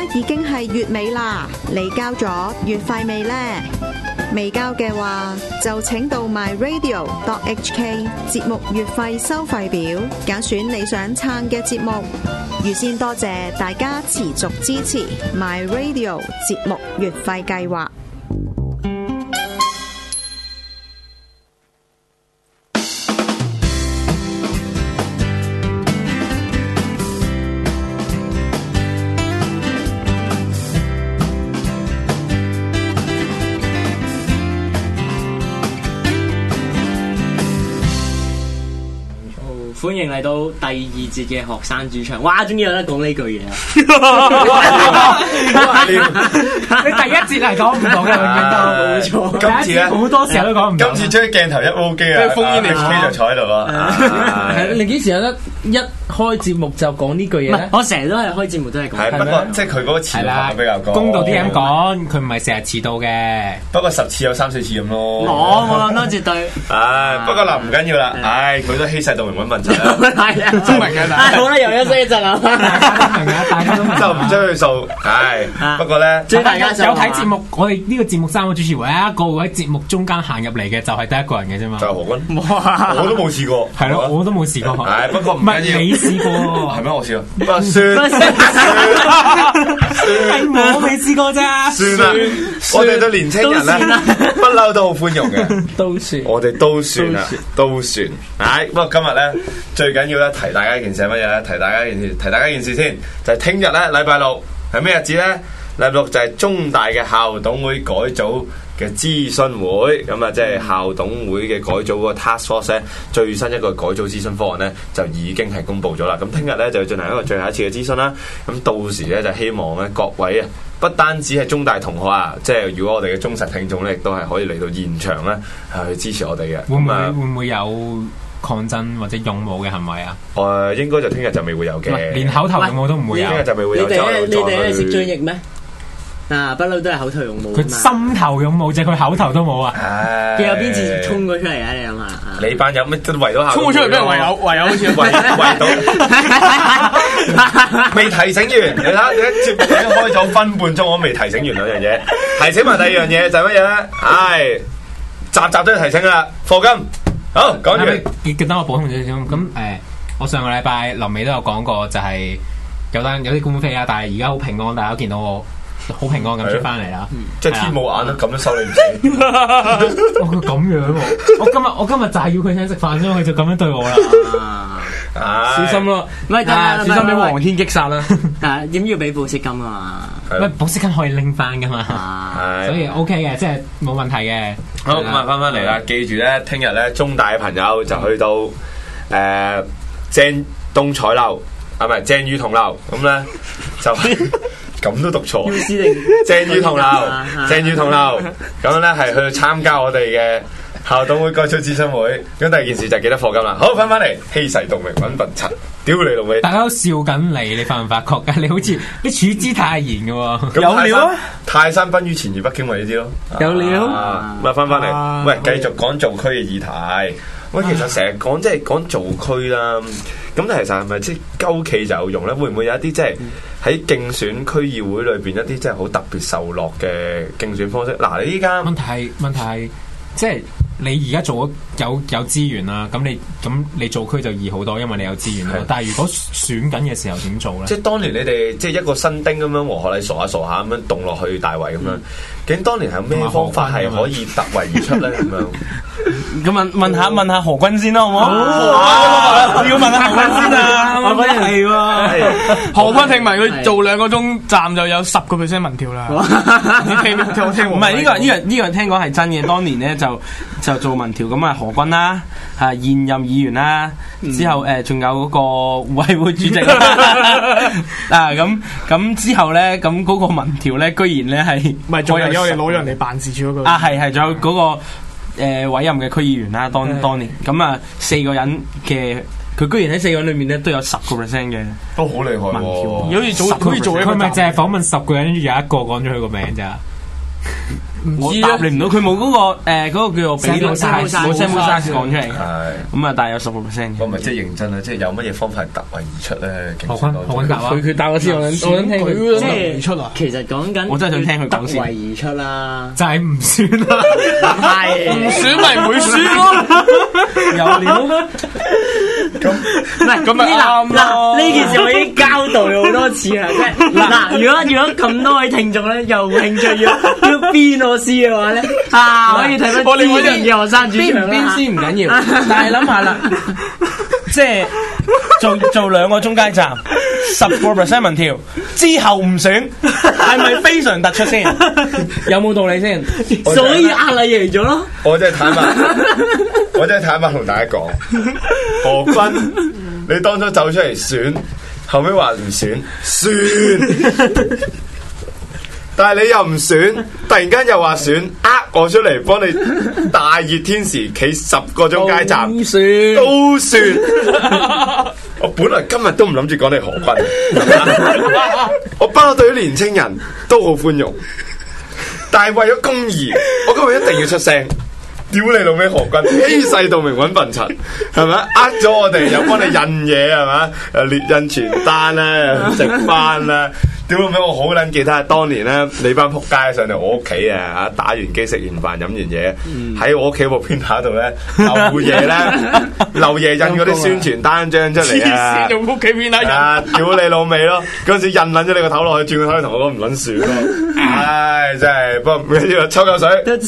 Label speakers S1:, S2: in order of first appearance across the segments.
S1: 已經係月尾啦，你交咗月費未呢？未交嘅話，就請到 myradio.hk 節目月費收費表，揀選你想撐嘅節目。預先多謝大家持續支持 myradio 節目月費計劃。
S2: 歡迎嚟到第二節嘅學生主場。哇，終於有得講呢句嘢啊！
S3: 你第一節係講唔到嘅，冇錯。今次咧好多時候都講唔到。
S4: 今次將鏡頭一 O 機啊，封煙你機就坐喺度咯。
S5: 係你幾時有得一開節目就講呢句嘢咧？
S2: 我成日都係開節目都係講。
S4: 係不過即係佢嗰個詞法比較高。
S3: 公道啲咁講，佢唔係成日遲到嘅。不過
S4: 10次有3、4次咁咯。
S2: 我諗多絕對。
S4: 不過嗱唔緊要啦，佢都欺世盜名揾問題。
S2: 係啊，
S3: 聰明嘅啦。
S2: 好啦，又休息一陣啊。
S3: 大家都明嘅，
S4: 就唔將佢數。不過咧，
S2: 大家
S3: 有睇節目，我哋呢個節目3個主持，唯一一個會喺節目中間行入嚟嘅，就係得一個人嘅啫嘛。
S4: 就係何君。我都冇試過。
S3: 係咯，我都冇試過。
S4: 不過唔緊要。
S3: 你試過？
S4: 係咩？我試過。不過算。
S3: 係我未試過咋。
S4: 算啦，我哋對年青人咧，不嬲都好寬容嘅。
S5: 都算。
S4: 我哋都算啦，都算。不過今日咧。最緊要咧提大家一件事係乜嘢咧？提大家一件事先，就係聽日咧禮拜六係咩日子咧？禮拜六就係中大嘅校董會改組嘅諮詢會，咁啊即係校董會嘅改組嗰個 task force 咧，最新一個改組諮詢方案咧就已經係公布咗啦。咁聽日咧就要進行一個最後一次嘅諮詢啦。咁到時咧就希望咧各位啊，不單止係中大同學啊，即係如果我哋嘅忠實聽眾咧，亦都係可以嚟到現場咧去支持我哋嘅。
S3: 會唔會有抗爭或者勇武嘅行為啊？
S4: 應該就聽日就未會有嘅，
S3: 連口頭勇武都唔會有。
S4: 聽日就未會有。
S2: 你哋係食追憶咩？不嬲都係口頭勇武。
S3: 佢心頭勇武啫，佢口頭都冇啊！
S2: 佢有邊次衝咗出嚟啊？你諗下。
S4: 你班友咩都圍到校？
S5: 衝咗出嚟俾人圍有好似
S4: 圍到。未提醒完，你睇你一節目已經開咗分半鐘，我未提醒完兩樣嘢。提醒埋第二樣嘢就係乜嘢咧？集都要提醒啦，課金。好，講完。
S3: 記得我補充少少咁我上個禮拜臨尾都有講過，就係有啲官非啊，但係而家好平安，大家都見到我好平安咁出翻嚟啦。
S4: 即係天冇眼都咁樣收你唔死。
S3: 佢咁樣喎！我今日就係要佢請食飯，所以佢就咁樣對我啦。
S5: 小心咯，小心俾黃天擊殺啦。
S2: 點要俾保釋金啊嘛？
S3: 喂，保釋金可以拎翻噶嘛？所以 OK 嘅，即係冇問題嘅。
S4: 好，咁啊翻嚟啦！記住咧，聽日咧中大嘅朋友就去到鄭東彩樓，唔係鄭裕彤樓，咁咧就咁都讀錯。鄭裕彤樓，咁咧係去參加我哋嘅校董會改組諮詢會。咁第二件事就記得課金啦。好，翻嚟欺世盜名揾笨柒，屌你老味！
S3: 大家都笑緊你發唔發覺㗎？你好似你處之泰然嘅喎。
S4: 有料啊！泰山崩於前而北京為之咯。
S5: 有料。
S4: 咁啊，翻嚟，喂，繼續講做區嘅議題。喂，其實成日講即係講做區啦，咁但係其實係咪即係鳩企就有用咧？會唔會有一啲即係喺競選區議會裏邊一啲即係好特別受落嘅競選方式？嗱，你依家
S3: 問題係即係你而家做咗有資源啦，咁你做區就易好多，因為你有資源啦。但係如果選緊嘅時候點做咧？即係
S4: 當年你哋即係一個新丁咁樣和學禮傻下咁樣動落去大圍咁樣，究竟當年係有咩方法係可以突圍而出咧？咁樣
S5: 咁問下何君先啦，好唔好？要問下何君先啊！
S2: 何君係喎，
S5: 何君聽埋佢做2個鐘站就有10% 民調啦。你聽唔係呢個聽講係真嘅，當年咧就做民調咁啊，何君啦，現任議員啦，之後仲有嗰個委會主席咁之後咧，咁嗰個民調咧，居然咧係
S6: 唔係仲有我哋攞人嚟辦事處嗰個
S5: 係仲有嗰個委任嘅區議員啦，當年咁啊4個人嘅，佢居然喺4個人裏面咧都有10% 嘅，
S4: 都好厲害喎！
S5: 好似做
S3: 佢咪淨係訪問10個人，跟住有1個講咗佢個名咋？
S5: 我答你唔到，佢冇嗰個嗰個叫做比率 size 冇 sample size 講出嚟嘅。
S4: 係
S5: 咁啊，但係有10%嘅。
S4: 我咪即係認真啦，即係有乜嘢方法係突圍而出咧？
S3: 何君答啊！
S5: 佢答我先，我想聽佢
S6: 即
S5: 即
S6: 係出啊！
S2: 其實講緊，
S5: 我真係想聽佢講先
S2: 突圍而出啦，
S3: 就係唔算啦，
S2: 唔係
S5: 唔選咪唔會輸咯，有料。
S2: 唔係
S5: 咁咪啱咯
S2: 嗱，呢件事我已經交代好多次啦，即係嗱，如果咁多位聽眾咧，有興趣要邊我師嘅話咧，可以睇翻之前嘅學生主場啦。
S5: 邊先唔緊要，但係諗下啦，即係做2個中間站，10% 民調之後唔選，係咪非常突出先？有冇道理先？
S2: 所以壓力贏咗咯。
S4: 我真係坦白同大家講，何君，你當初走出嚟選，後尾話唔選，但係你又唔選，突然間又話選，我出嚟幫你大熱天時企10個中間站，都算。我本來今日都唔諗住講你何君，我不嬲對於年青人都好寬容，但係為咗公義，我今日一定要出聲。屌你老味何君，欺世盜名揾笨柒，係咪？咗我哋又幫你印嘢，係咪？列印傳單啦，食飯啦。屌老味，我好撚記得當年咧，你班仆街上嚟我屋企啊，打完機食完飯飲完嘢，喺我屋企部編打度咧，漏夜印嗰啲宣傳單張出嚟啊！
S5: 用屋企編打印，
S4: 屌你老味咯！嗰陣時印撚咗你個頭落去，轉個頭同我講唔撚算咯。唉，真係不過唔緊要，抽夠水，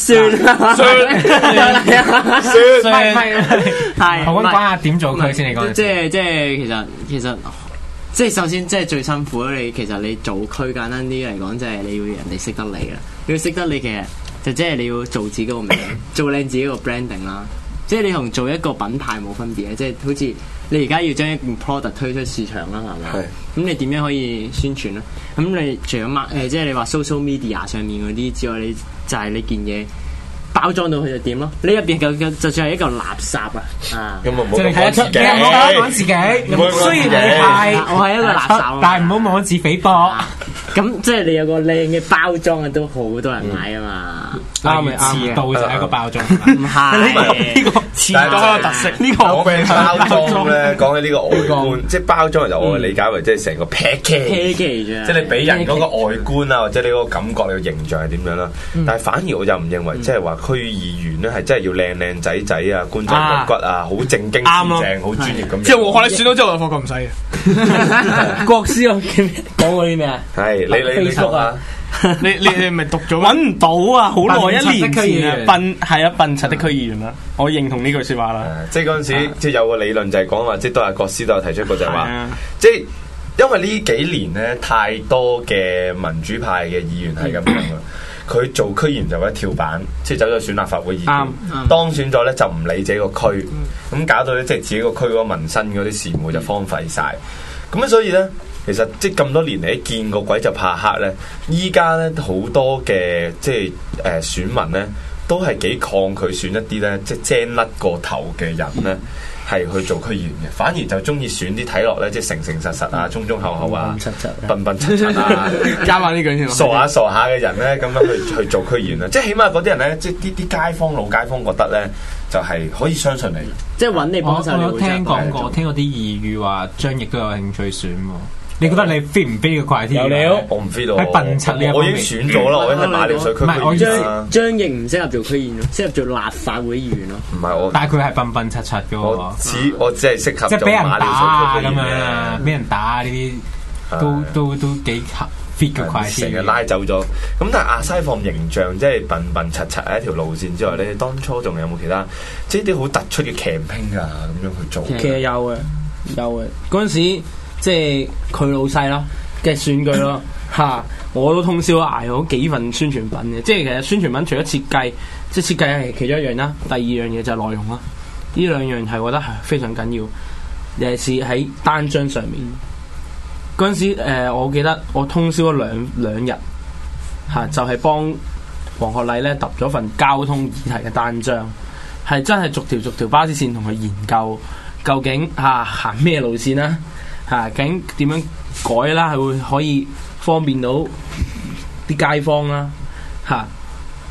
S4: 算，
S2: 係
S3: 何君講下點做佢先？你講
S2: 即係其實。即係首先，即係最辛苦咧。其實你做區簡單啲嚟講，即係你要人哋識得你啦。你要識得你，其實就即係你要做自己個名，做靚自己個 branding 啦。即係你同做一個品牌冇分別嘅。即係好似你而家要將一件 product 推出市場啦，係咪？咁你點樣可以宣傳咧？咁你除咗即係你話 social media 上面嗰啲之外，你就係你件嘢包裝到佢就點咯？你入邊就算係一個垃圾啊！
S4: 咁啊，
S3: 即係你睇得出嘅，唔好講自己。雖然你係
S2: 我係一個垃圾，
S3: 但係唔好妄自菲薄。
S2: 咁即係你有個靚嘅包裝啊，都好多人買啊嘛。
S5: 啱咪啱
S3: 遲到就係一個包裝。
S2: 唔係
S5: 呢個遲到嘅特色，呢個
S4: 我嘅包裝咧，講起呢個外觀，即係包裝，就我理解為即係成個 package，即係你俾人嗰個外觀啊，或者你嗰個感覺、你個形象係點樣啦。但係反而我就唔認為，即係話區議員咧係真係要靚仔仔啊、官仔骨骨啊、好正經正、好專業咁。
S6: 即係我學你選到之後，我發覺唔使嘅。
S5: 國師我講過啲咩啊？
S4: 係你 Facebook 啊？
S6: 你咪讀咗
S5: 揾唔到啊！好耐1年前啊，
S3: 笨
S5: 笨柒的區議員啦，我認同呢句説話啦。
S4: 即係嗰陣時，即係有個理論就係講話，即係都係國師都有提出過，就係話，即係因為呢幾年咧太多嘅民主派嘅議員係咁樣啦。佢做區議員就一跳板，即係走咗選立法會議員，當選咗咧就唔理自己個區，咁搞到咧即係自己個區嗰個民生嗰啲事務就荒廢晒。咁所以咧，其實即係咁多年嚟見過鬼就怕黑咧，依家咧好多嘅即係選民咧都係幾抗拒選一啲咧即係精甩過頭嘅人咧。係去做區議員嘅，反而就中意選啲睇落咧，即係誠誠實實啊、忠忠厚厚啊、笨笨柒柒啊，
S6: 加埋呢句先，
S4: 傻下嘅人咧，咁樣去做區議員啦。即係起碼嗰啲人咧，即係啲街坊老街坊覺得咧，就係可以相信你，
S2: 即係揾你幫手。
S3: 我有聽講過，聽過啲異語話張翼都有興趣選喎。你覺得你 fit 唔 fit 個 criteria？有料，
S4: 我唔 fit 到。
S3: 喺笨柒呢一方面，
S4: 我已經選咗啦，我已經係馬料水區區議員啦。
S2: 張翼唔適合做區議員咯，適合做立法會議員咯。
S4: 唔係我，
S3: 但係佢係笨笨柒柒嘅喎。
S4: 我只係適合
S3: 即係俾人打啊咁
S4: 樣
S3: 啊，俾人打呢啲都幾 fit 嘅 criteria。
S4: 成日拉走咗。咁但係亞西放形象即係笨笨柒柒係一條路線之外咧，當初仲有冇其他即係啲好突出嘅 campaign 啊咁樣去做？
S5: 其實有嘅，嗰陣時。即係佢老細咯嘅選舉咯嚇，我都通宵捱咗幾份宣傳品嘅。即係其實宣傳品除咗設計，即係設計係其中一樣啦。第二樣嘢就係內容啦。呢兩樣係我覺得係非常緊要，尤其是喺單張上面。嗰陣時我記得我通宵咗兩日嚇，就係幫黃學禮咧揼咗份交通議題嘅單張，係真係逐條巴士線同佢研究，究竟行咩路線啦。究竟點樣改啦？係會可以方便到啲街坊啦，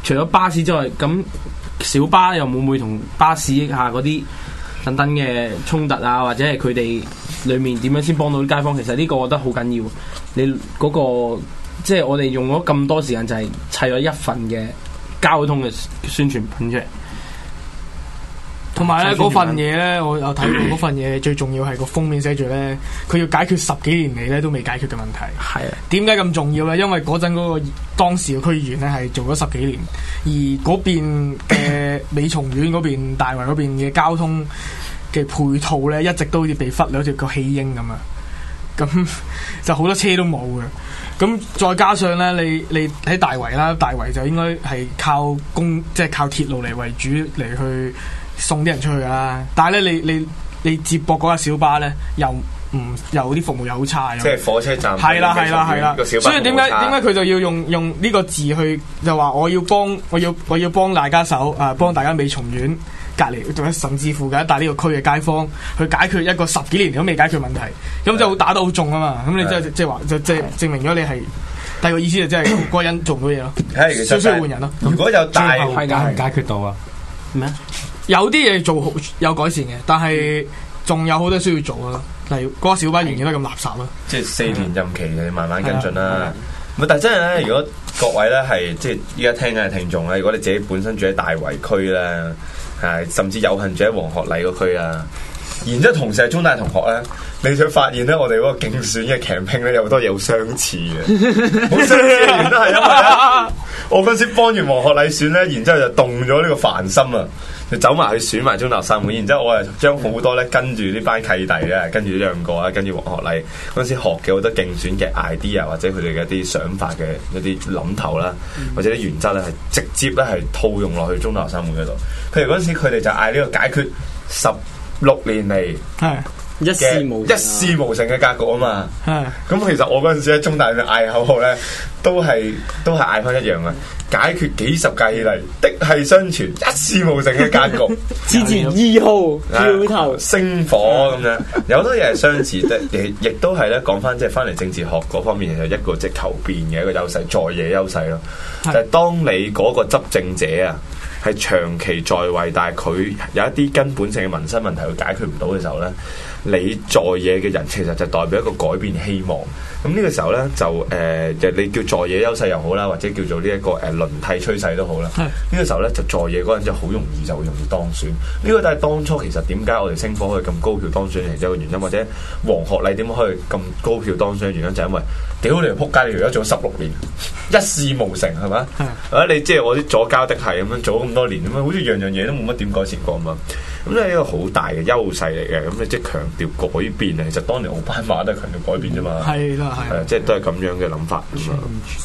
S5: 除咗巴士之外，咁小巴又會唔會同巴士下嗰啲等等嘅衝突啊，或者係佢哋裡面點樣先幫到啲街坊？其實呢個我覺得好緊要。你嗰個即係我哋用咗咁多時間，就係砌咗一份嘅交通嘅宣傳品出嚟。
S6: 同埋咧嗰份嘢咧，我有睇過嗰份嘢，最重要係個封面寫住咧，佢要解決10幾年嚟咧都未解決嘅問題。
S5: 係啊，
S6: 點解咁重要咧？因為嗰陣嗰個當時嘅區議員咧係做咗10幾年，而嗰邊嘅美松苑嗰邊、大圍嗰邊嘅交通嘅配套咧，一直都好似被忽略，好似個棄嬰咁啊！咁就好多車都冇嘅。咁再加上咧，你喺大圍啦，大圍就應該係靠即係靠鐵路嚟為主嚟去送啲人出去噶啦。但係咧，你接駁嗰架小巴咧，又啲服務又好差。
S4: 即係火車站
S6: 係啦，所以點解佢就要用呢個字去就話我要幫大家手啊，幫大家美松苑隔離，甚至乎嘅一帶呢個區嘅街坊去解決一個10幾年都未解決問題，咁就打得好重啊嘛！咁你即係話就即係證明咗你係第二個意思就即係嗰個人做唔到嘢咯，需要換人咯。
S4: 如果有大
S3: 係解決到啊？
S5: 咩啊？
S6: 有啲嘢做好有改善嘅，但係仲有好多需要做啊。例如嗰個小巴仍然都咁垃圾咯。即係
S4: 4年任期嘅慢慢跟進啦。但係真係咧，如果各位咧係即係依家聽緊嘅聽眾咧，如果你自己本身住喺大圍區咧，係甚至有幸住喺黃鶴禮嗰區啊，然之後同時係中大同學咧，你就會發現咧，我哋嗰個競選嘅 campaign 咧有好多嘢好相似嘅，好相似嘅原因係因為咧，我嗰陣時幫完黃鶴禮選咧，然之後就動咗呢個凡心啊！就走埋去選埋中大學生會，然之後我係將好多咧跟住呢班契弟咧，跟住呢兩個啊，跟住黃學禮嗰陣時學嘅好多競選嘅 idea 或者佢哋嘅一啲想法嘅一啲諗頭啦，或者啲原則咧係直接咧係套用落去中大學生會嗰度。譬如嗰陣時佢哋就嗌呢個解決16年嚟
S2: 一事無成嘅格局啊嘛。
S4: 咁其實我嗰陣時喺中大嘅嗌口號咧，都係嗌翻一樣嘅。解決幾十屆以嚟的係相傳一事無成嘅格局，
S2: 之前2號票頭
S4: 星火咁樣，有好多嘢係相似，亦都係咧講翻即係翻嚟政治學嗰方面，就一個即係求變嘅一個優勢，在野優勢咯。就係當你嗰個執政者啊，係長期在位，但係佢有一啲根本性嘅民生問題佢解決唔到嘅時候咧，你在野嘅人其實就代表一個改變希望。咁呢個時候咧就你叫在野優勢又好啦，或者叫做呢一個輪替趨勢都好啦。呢個時候咧就在野嗰陣就好容易當選。呢個都係當初其實點解我哋星火可以咁高票當選嘅一個原因，或者黃學禮點解可以咁高票當選嘅原因，就係因為屌你條撲街，你而家做咗16年，一事無成係嘛？你即係我啲左膠的係咁樣做咗咁多年咁樣，好似樣樣嘢都冇乜點改善過咁啊！咁呢係一個好大嘅優勢嚟嘅，咁你即係強調改變啊！其實當年奧巴馬都係強調改變啫嘛。係啦，係即係都係咁樣嘅諗法咁啊。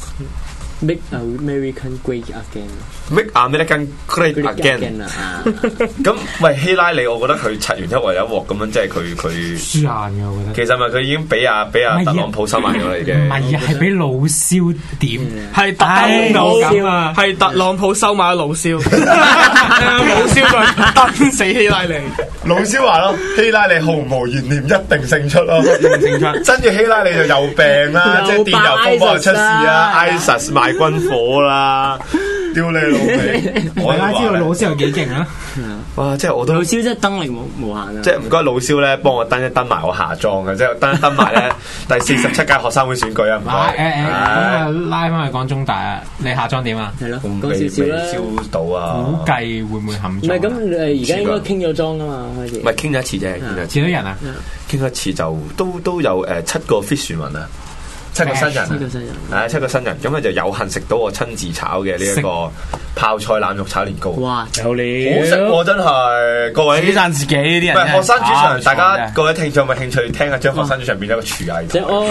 S2: Make American great again。
S4: Make American great again 啊！咁喂，希拉里，我覺得佢拆完一鑊有一鑊咁樣，即係佢
S3: 輸硬嘅，我覺得。
S4: 其實咪佢已經俾阿特朗普收埋咗啦，已經。
S3: 唔係啊，係俾老蕭點？
S6: 係特朗普收買老蕭，老蕭再登死希拉里。
S4: 老蕭話咯，希拉里毫無懸念，一定勝出咯，一定勝出。跟住希拉里就有病啦，即係電郵風波又出事啊 ，ISIS 賣軍火啦。屌你老味！
S3: 我大家知道老蕭有幾勁啊！
S4: 哇！即係我都
S2: 老蕭真係登力無限啊！
S4: 即係唔該老蕭咧，幫我登一登埋我下裝嘅，即係登埋咧第47屆學生會選舉啊！唔該。
S3: 咁啊，拉翻去講中大啊，你下裝點啊？
S2: 係咯，講少少啦。
S4: 燒到啊！
S3: 估計會唔會冚？
S2: 唔係咁，而家應該傾咗裝啊嘛，開始。
S4: 唔係傾咗一次啫，
S3: 幾多人啊？
S4: 傾咗一次就都有7個 fish 民啊！7個新人，7個新人，咁啊就有幸食到我親自炒嘅呢一個泡菜腩肉炒年糕。
S2: 哇，有料，
S4: 好食喎！真係各位，
S5: 自己讚自己啲人。
S4: 唔係學生主場，大家各位聽眾有冇興趣聽下將學生主場變咗個廚藝？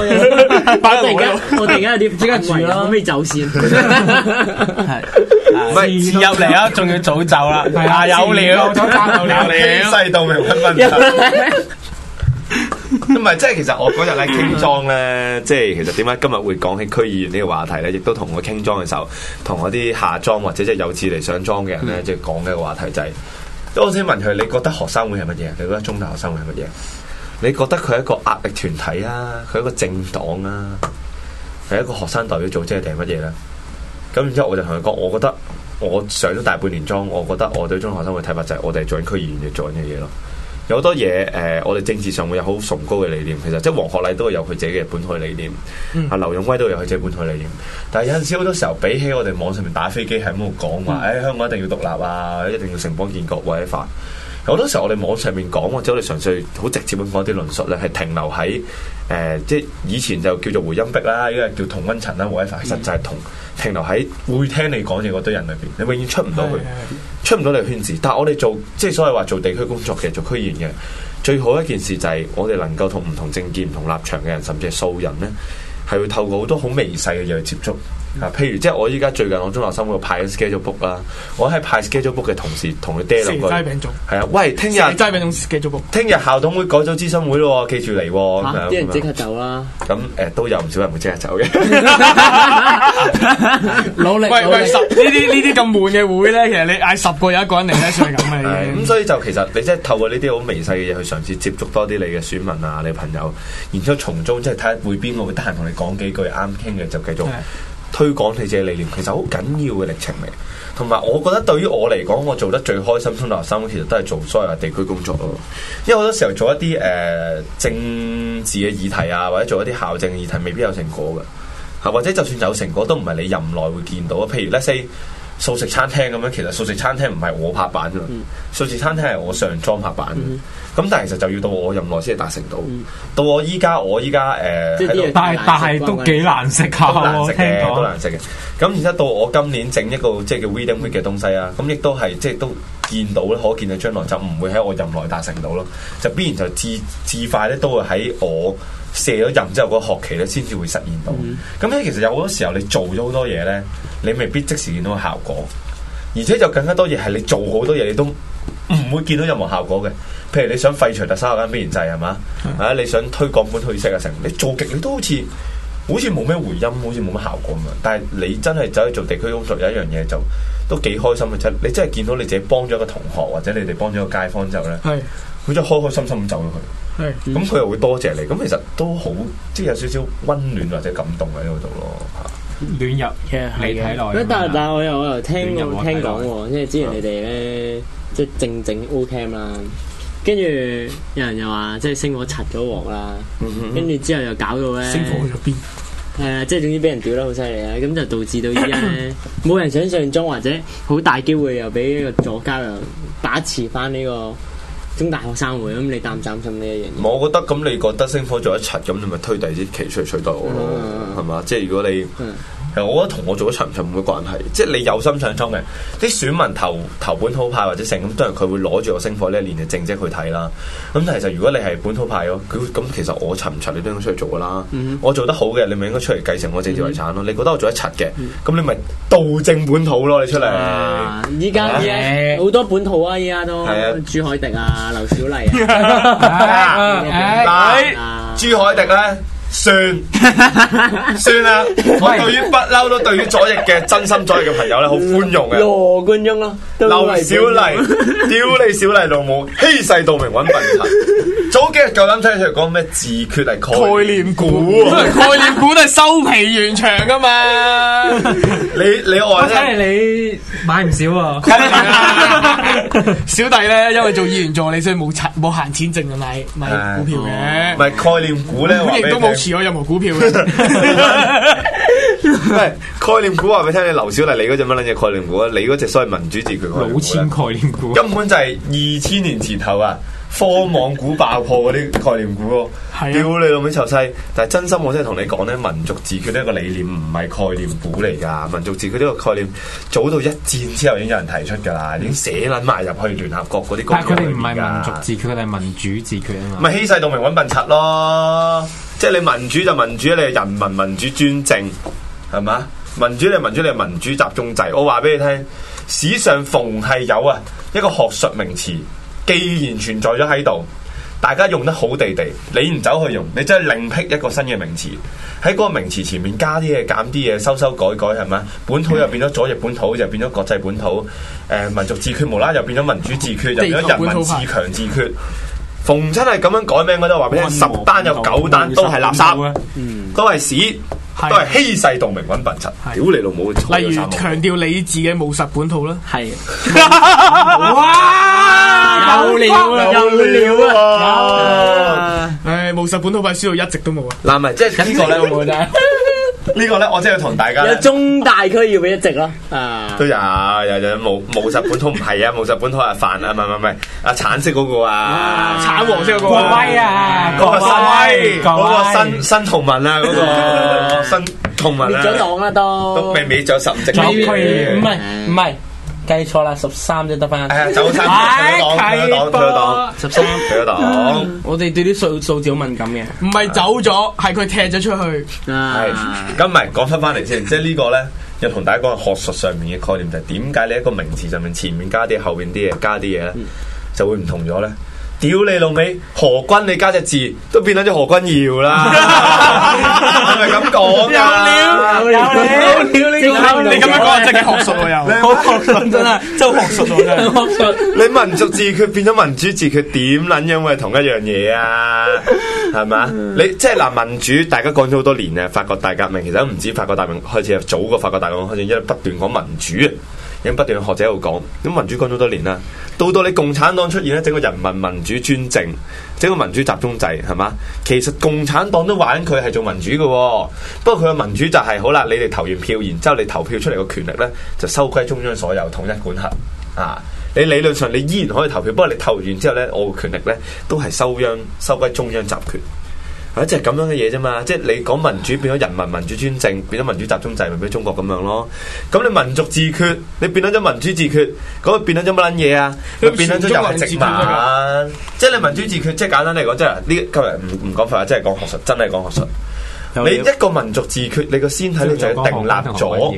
S2: 我突然間有啲即刻住啦，可唔可以走先？
S5: 係，唔係遲入嚟啊，仲要早走啦。係啊，有料，早餐有料，
S4: 西到明分分。唔係，即係其實我嗰日咧傾莊咧，即係其實點解今日會講起區議員呢個話題咧，亦都同我傾莊嘅時候，同我啲下莊或者即係有志嚟上莊嘅人咧，即係講嘅一個話題就係，我先問佢：你覺得學生會係乜嘢？你覺得中大學生會係乜嘢？你覺得佢係一個壓力團體啊？佢係一個政黨啊？係一個學生代表組織定係乜嘢咧？咁然之後我就同佢講，我覺得我上咗大半年莊，我覺得我對中學生嘅睇法就係我哋做緊區議員要做緊嘅嘢咯。有好多嘢我哋政治上會有好崇高嘅理念，其實即係黃學禮都有佢自己嘅本土理念，劉勇威都有佢自己本土理念。但係有陣時好多時候，比起我哋網上面打飛機喺度講話，香港一定要獨立啊，一定要城邦建國或者法。好多時候我哋網上面講或者我哋純粹好直接咁講啲論述咧，係停留喺即係以前就叫做回音壁啦，依家叫同溫層啦，或者法，其實就係停留喺會聽你講嘢嗰堆人裏邊，你永遠出唔到去，出唔到你嘅圈子。但係我哋做即係所謂話做地區工作嘅，做區議員嘅，最好一件事就係我哋能夠同唔同政見、唔同立場嘅人，甚至係素人咧，係會透過好多好微細嘅嘢去接觸。譬如即係我依家最近我中學生會派 schedule book 啦，我喺派 schedule book 嘅同時同佢嗲兩句，係啊，喂，聽日 schedule book， 聽日校董會改組諮詢會咯，記住嚟喎，
S2: 啲人即刻走啦。
S4: 咁都有唔少人會即刻走嘅，
S6: 努力。喂，呢啲咁悶嘅會咧，其實你嗌10個有1個人嚟咧，算係咁嘅。
S4: 咁所以就其實你即係透過呢啲好微細嘅嘢去嘗試接觸多啲你嘅選民啊，你朋友，然之後從中即係睇下會邊個會得閒同你講幾句啱傾嘅，就繼續推廣你自己理念，其實好緊要嘅歷程嚟。同埋我覺得對於我嚟講，我做得最開心中學生其實都係做所謂嘅地區工作咯。因為好多時候做一啲政治嘅議題啊，或者做一啲校政嘅議題，未必有成果嘅，或者就算有成果，都唔係你任內會見到。譬如 let's say 素食餐廳咁樣，其實素食餐廳唔係我拍板㗎，素食餐廳係我上莊拍板。咁但係其實就要到我任內先係達成到。到我依家
S3: 但係都幾難食下喎，
S4: 都難食嘅。咁然之後到我今年整一個即係叫 Reading Week 嘅東西啊，咁亦都係即係都見到咧，可見嘅將來就唔會喺我任內達成到咯，就必然就至快咧都會喺我卸咗任之後嗰個學期咧先至會實現到。咁咧其實有好多時候你做咗好多嘢咧，你未必即時見到個效果，而且就更加多嘢係你做好多嘢你都唔會見到任何效果嘅。譬如你想廢除特首間必然制係嘛？你想推廣本土意識啊成，你做極你都好似冇咩回音，好似冇乜效果咁樣。但係你真係走去做地區工作，有一樣嘢就都幾開心嘅啫。你真係見到你自己幫咗一個同學，或者你哋幫咗個街坊之後咧，佢真係開開心心咁走咗去。咁佢又會多謝你。咁其實都好，即係有少少溫暖或者感動喺嗰度咯。
S3: 暖入你睇內。
S2: 但係我又聽講喎，即係之前你哋咧，即係正 O Camp 啦。跟住有人又話，即係星火拆咗鑊啦，跟住之後又搞到咧，
S6: 星火去咗邊？
S2: 即係總之俾人屌得好犀利啦，咁就導致到依家咧冇人想象中，或者好大機會又俾呢個左膠又把持翻呢個中大學生會，咁你擔唔擔心呢一樣嘢？
S4: 我覺得咁，你覺得星火做一柒，咁你咪推第二啲期出嚟取代我咯，係嘛？即係如果你我覺得同我做咗長唔長冇乜關係，即係你有心想衝嘅，啲選民投本土派或者成咁，當然佢會攞住個星火呢一年嘅政績去睇啦。咁但係其實如果你係本土派咯，咁其實我柒唔柒你都應該出嚟做噶啦。我做得好嘅，你咪應該出嚟繼承我政治遺產咯。你覺得我做得柒嘅，咁你咪導正本土咯，你出嚟。
S2: 依家好多本土啊，依家都朱凱迪啊、劉小麗
S4: 朱凱迪咧。算啦，我對於不嬲都對於左翼嘅真心左翼嘅朋友咧好寬容嘅。
S2: 羅冠聰咯，
S4: 劉小麗，屌你小麗老母，欺世盜名揾笨柒。早幾日夠膽出嚟講咩自決係概念股，
S6: 概念股都係收皮完場噶嘛。
S4: 你話咧，
S3: 睇嚟你買唔少啊。
S6: 小弟咧，因為做議員助理，所以冇閒錢剩啊買股票嘅。
S4: 唔係概念股咧，
S6: 亦都冇持有任何股票嘅。
S4: 概念股話俾你聽，你劉小麗你嗰隻乜撚嘢概念股啊？你嗰隻所謂民主自決
S3: 老千概念股，
S4: 根本就係2000年前後啊！科網股爆破嗰啲概念股咯，屌你老味臭西！但係真心我真係同你講咧，民族自決呢一個理念唔係概念股嚟㗎，民族自決呢個概念早到一戰之後已經有人提出㗎啦，已經寫撚埋入去聯合國嗰啲公約裏邊㗎。但係佢哋唔係民族自決，佢哋係民主自決啊嘛。咪欺世盜名揾笨柒咯！即係你民主就民主，你係人民民主專政係嘛？民主你係民主，你係民主集中制。我話俾你聽，史上逢係有一個學術名詞。既然存在咗喺度，大家用得好地地，你唔走去用，你真係另闢一個新嘅名詞，喺嗰個名詞前面加啲嘢、減啲嘢、修改係咪？本土又變咗左翼本土，又變咗國際本土。民族自決無啦又變咗民主自決，又變咗人民自強自決。逢親係咁樣改名，我都話俾你聽，10單有9單都係垃圾，都係屎。 都係欺世盜名揾笨柒。屌你老母！
S6: 例如強調理智嘅務實本土啦。
S2: 係
S5: 哇！
S2: 有料啊！
S6: 唉，務實本土派輸到一直都冇啊！
S4: 嗱，咪即係呢個咧，
S5: 冇啫。
S4: 呢個咧，我真係要同大家
S2: 有中大區要俾一席咯，啊
S4: 都有務實本土唔係啊，務實本土係飯啊，唔係啊橙色嗰個啊，
S6: 橙黃色嗰個
S5: 國威啊，
S4: 嗰個
S5: 國
S4: 嗰個新同盟啊，嗰個新同盟啊，
S2: 滅咗黨啦
S4: 都未咗15席，
S5: 唔係計錯啦，13啫得翻。
S4: 係啊，走親退咗黨，13退咗黨。
S5: 我哋對啲數字好敏感嘅。
S6: 唔係走咗，係佢踢咗出去。
S4: 係，咁咪講翻嚟先，即係呢個咧，又同大家講學術上面嘅概念就係點解你一個名詞上面前面加啲，後邊啲嘢加啲嘢咧，就會唔同咗咧？屌你老味，何君你加隻字都變咗何君堯啦，係咪咁講㗎？
S5: 有料，
S6: 你咁樣講真係學術喎又。
S5: 好學術真係，真係學術喎真係。學術，
S4: 你民族自決變咗民主自決，點撚樣會係同一樣嘢啊？係咪？你即係嗱，民主大家講咗好多年啊，法國大革命其實都唔止法國大革命開始，早過法國大革命開始，因為不斷講民主啊。已經不斷學者喺度講，咁民主講咗多年啦，到你共產黨出現咧，整個人民民主專政，整個民主集中制，係嘛？其實共產黨都玩佢係做民主嘅，不過佢嘅民主就係、好啦，你哋投完票，然之後你投票出嚟嘅權力咧，就收歸中央所有，統一管轄啊！你理論上你依然可以投票，不過你投完之後咧，我嘅權力咧都係收歸中央集權。即係咁樣嘅嘢啫嘛，即係你講民主變咗人民民主專政，變咗民主集中制，咪俾中國咁樣咯。咁你民族自決，你變咗咗民主自決，咁咪變咗咗乜撚嘢啊？咪變咗咗又係殖民。即係你民主自決，即係簡單嚟講，即係呢今日唔講廢話，即係講學術，真係講學術。你一個民族自決，你個先體你就要定立咗。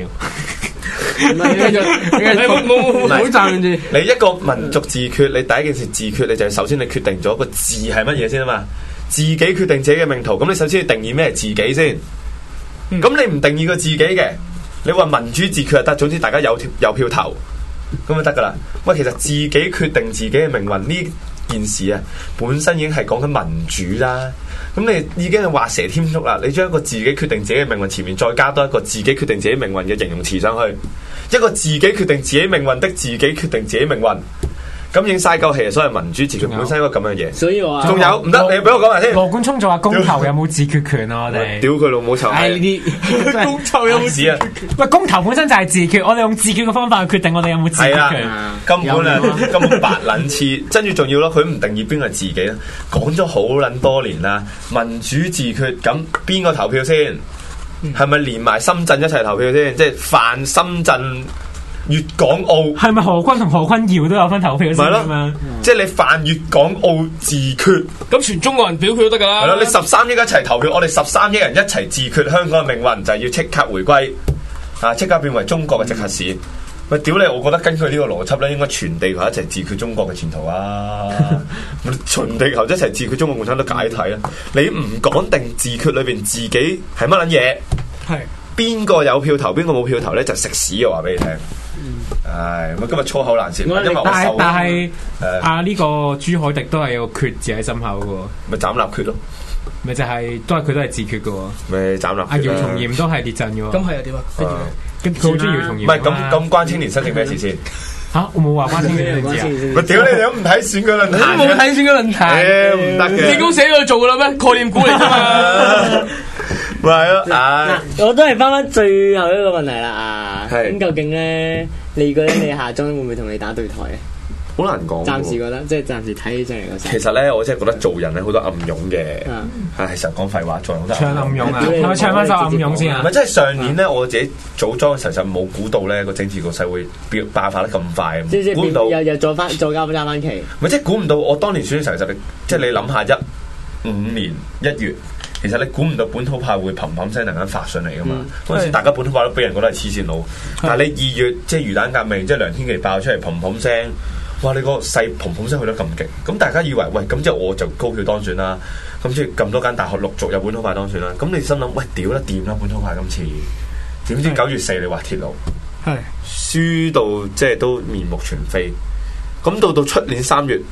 S5: 唔好站住。
S4: 你一個民族自決，你第一件事自決，你就首先你決定咗個字係乜嘢先啊嘛。自己決定自己嘅命途，咁你首先要定義咩係自己先。咁你唔定義個自己嘅，你話民主自決就得，總之大家有票投，咁就得噶啦。喂，其實自己決定自己嘅命運呢件事啊，本身已經係講緊民主啦。咁你已經係畫蛇添足啦。你將一個自己決定自己嘅命運前面再加多一個自己決定自己命運嘅形容詞上去，一個自己決定自己命運的自己決定自己命運。咁已經嘥夠氣，所以民主自決本身應該咁樣嘢。所以話仲有唔得，你俾我講埋先。
S3: 羅冠聰就話公投有冇自決權啊？我哋
S4: 屌佢老母臭！
S5: 係呢啲
S6: 公投有冇
S4: 事啊？
S3: 喂，公投本身就係自決，我哋用自決嘅方法去決定我哋有冇自決權。
S4: 根本白撚黐，跟住仲要咯，佢唔定義邊個係自己咧？講咗好撚多年啦，民主自決，咁邊個投票先？係咪連埋深圳一齊投票先？即係泛深圳。粵港澳
S3: 係咪何君同何君堯都有分投票先咁樣？
S4: 即係你泛粵港澳自決，
S6: 咁全中國人表決都得㗎啦。
S4: 係咯，你13億一齊投票，我哋13億人一齊自決香港嘅命運，就係要即刻回歸啊！即刻變為中國嘅直轄市。喂，屌你！我覺得根據呢個邏輯咧，應該全地球一齊自決中國嘅前途啊！全地球一齊自決中國共產黨解體啊！你唔講定自決裏邊自己係乜撚嘢？係邊個有票投，邊個冇票投咧？就食屎嘅話俾你聽。唉，咁今日粗口難舌，因為
S3: 但係呢個朱凱迪都係有個決字喺心口嘅喎，
S4: 咪斬立決咯，
S3: 咪就係佢都係自決嘅喎，
S4: 咪斬立決。
S3: 阿姚松炎都係列陣嘅喎，
S6: 咁係又點啊？
S3: 佢好中意姚松炎。
S4: 唔係咁關青年新政咩事先？
S3: 嚇，我冇話關青年新政治啊！
S4: 咪屌你哋都唔睇選舉論壇，
S6: 都冇睇選舉論壇，
S4: 唔得嘅。
S6: 見工寫咗去做㗎啦咩？概念股嚟㗎嘛。
S4: 咪係咯，嗱，
S2: 我都係翻最後一個問題啦咁究竟咧，你覺得你下莊會唔會同你打對台啊？
S4: 好難講。暫
S2: 時覺得，即係暫時睇起上嚟嗰時。
S4: 其實咧，我真係覺得做人咧好多暗湧嘅。係實講廢話，做人好多
S3: 唱暗湧啊！係咪唱翻首暗湧先啊？
S4: 唔係，即係上年咧，我自己組裝嘅時候就冇估到咧個政治局勢會爆發得咁快。估唔到
S2: 又再加翻期。
S4: 唔係，即係估唔到我當年選嘅時候就即係你諗下15年1月。其實你估唔到本土派會砰砰聲突然間發上嚟噶嘛？嗰陣時大家本土派都俾人覺得係黐線佬，但係你2月即係魚蛋革命，即係梁天琦爆出嚟砰砰聲，哇！你個勢砰砰聲去得咁勁，咁大家以為喂咁即係我就高票當選啦，咁即係咁多間大學陸續有本土派當選啦，咁你心諗喂屌得掂啦本土派今次，點知9月4你話鐵路係輸到即係都面目全非，咁到出年3月。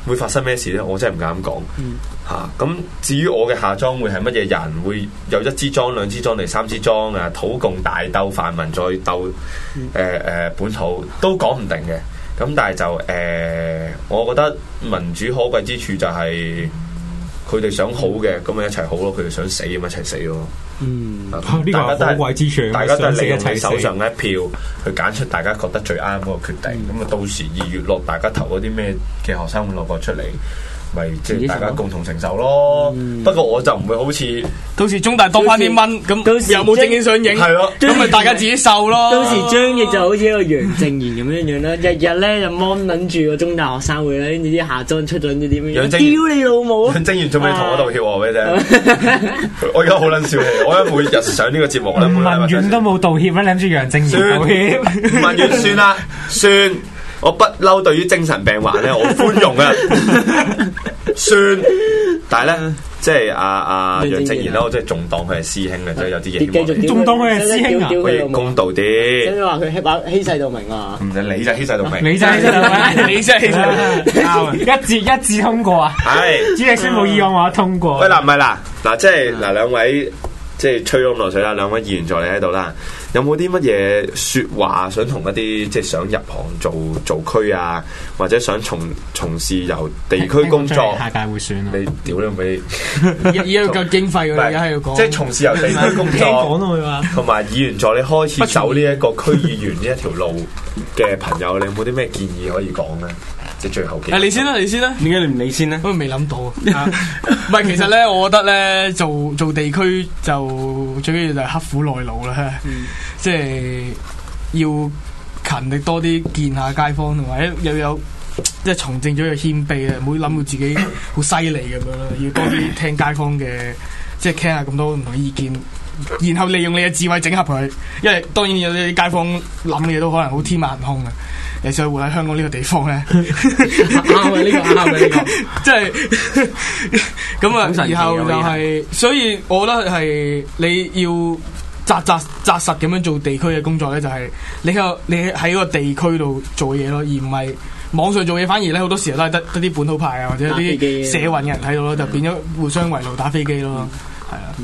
S4: 會發生咩事咧？我真係唔敢講嚇。咁至於我嘅下莊會係乜嘢人？會有1支莊、2支莊定3支莊啊？土共大鬥泛民再鬥本土都講唔定嘅。咁但係就我覺得民主可貴之處就係佢哋想好嘅，咁咪一齊好咯；佢哋想死咁一齊死咯。
S3: 呢個係可貴之處，
S4: 大家都係利用
S3: 你
S4: 你手上嘅一票去揀出大家覺得最啱嗰個決定。咁啊，到時2月落大家投嗰啲咩嘅學生會落個出嚟，咪即係大家共同承受咯。不過我就唔會好似
S6: 到時中大多翻啲蚊，咁有冇證件相影？
S4: 係咯，
S6: 咁咪大家自己受咯。
S2: 到時張翼就好似一個楊正賢咁樣樣啦，日日咧就芒撚住個中大學生會咧，跟住啲下莊出咗啲點樣？屌你老母！
S4: 楊正賢仲未同我道歉喎，俾你聽。我而家好撚小氣，我而家每日上呢個節目咧，
S3: 吳文遠都冇道歉啦，你諗住楊正賢道歉？
S4: 吳文遠算啦，算。我不嬲對於精神病患咧，我寬容啊，算。但係咧，即係阿楊正賢咧，我真係仲當佢係師兄嘅，即係有啲嘢。
S3: 仲當佢係師兄啊？
S4: 可以公道啲。
S2: 跟住話佢欺世盜名啊！
S4: 唔係你就欺世盜名，
S3: 你真係欺世盜名，
S6: 你真係欺世盜名。
S3: 一致通過啊！
S4: 係
S3: 主席宣布議案話通過。
S4: 喂嗱，唔係嗱，即係嗱兩位即係吹咗咁耐水啦，兩位議員助理喺度啦。有冇啲乜嘢説話想同一啲即係想入行做區啊，或者想從事由地區工作？
S3: 下屆會選啊！
S4: 你屌你咪
S6: 而家要夠經費㗎，而家係要講。
S4: 即係從事由地區工作，
S3: 講
S4: 同埋議員助理開始走呢一個區議員呢一條路嘅朋友，你有冇啲咩建議可以講咧？即係最後嘅。
S6: 你先啦，你先啦。
S3: 點解你唔理先咧？
S6: 我未諗到。唔係，其實咧，我覺得咧，做地區就最緊要就係刻苦耐勞啦。即係要勤力多啲，見下街坊，同埋又有即係從政咗要謙卑啊！唔好諗到自己好犀利咁樣啦，要多啲聽街坊嘅，即係傾下咁多唔同意見，然後利用你嘅智慧整合佢。因為當然有啲街坊諗嘅嘢都可能好天馬行空嘅。你想活喺香港呢個地方咧，啱啊！呢個啱啊！呢個即係咁啊！然後就係，所以我覺得係你要紮實咁樣做地區嘅工作咧，就係你喺個地區度做嘢咯，而唔係網上做嘢。反而咧好多時候都係得啲本土派啊，或者啲社運嘅人睇到咯，就變咗互相圍爐打飛機咯，係啊。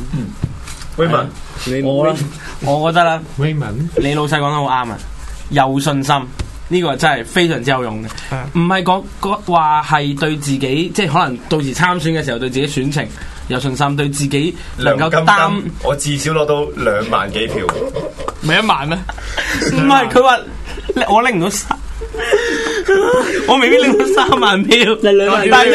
S4: Raymond，
S3: 我覺得啦，Raymond，你老細講得好啱啊，有信心。呢個真係非常之有用嘅，唔係講話係對自己，即係可能到時參選嘅時候對自己選情有信心，對自己能夠擔，
S4: 我至少攞到2萬幾票，
S6: 唔係1萬咩？
S3: 唔係佢話我拎唔到我未必拎到3萬票，但係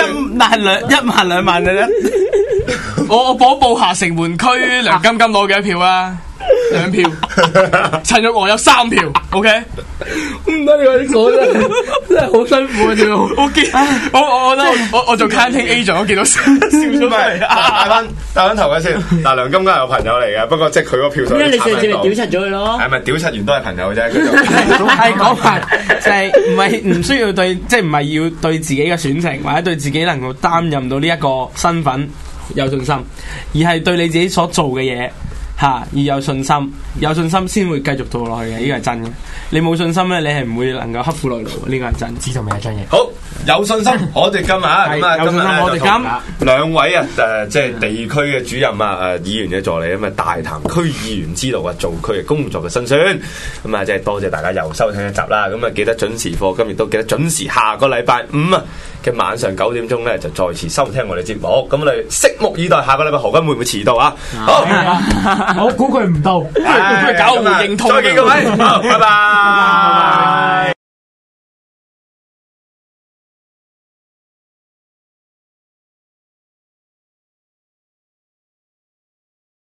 S3: 1萬2萬嘅啫。
S6: 我報下城門區梁金金攞幾多票啊？2票，陳玉娥有3票 ，OK？ 唔得，你話啲講真係好辛苦啊！仲我見我覺得我做 counting agent， 我見到笑咗嚟。
S4: 大翻頭嘅先。嗱，梁金金係我朋友嚟嘅，不過即係佢個票數。
S2: 因為你上次咪屌柒咗佢咯？
S4: 係咪屌柒完都係朋友啫？
S3: 係講法就係唔需要對，即係唔係要對自己嘅選情或者對自己能夠擔任到呢一個身份有信心，而係對你自己所做嘅嘢。而有信心先會繼續做落去嘅，呢個係真嘅。你冇信心咧，你係唔會能夠刻苦耐勞嘅，呢個係真。知道未啊，張嘢？好，
S4: 有信心，我哋今日啊，咁啊，
S3: 有信心，我哋今
S4: 兩位啊，即係地區嘅主任啊，議員嘅助理咁啊，大談區議員之路啊，做區嘅工作嘅辛酸。咁啊，即係多謝大家又收聽一集啦。咁啊，記得準時課金，亦都記得準時下個禮拜5嘅晚上9點鐘咧，就再次收聽我哋節目。咁我哋拭目以待，下個禮拜何君會唔會遲到啊？好。
S3: 我估佢唔到，
S6: 佢搞唔認同。
S4: 再見各位，拜拜。